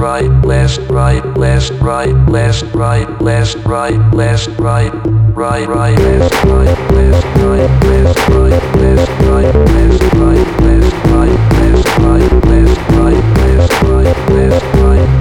right, left, right, left, right, left, right, left, right, left, right, right, right, left, right, left, right, left, right, left, right, left, right, left, right, left, right, left, right, left, right, left, right.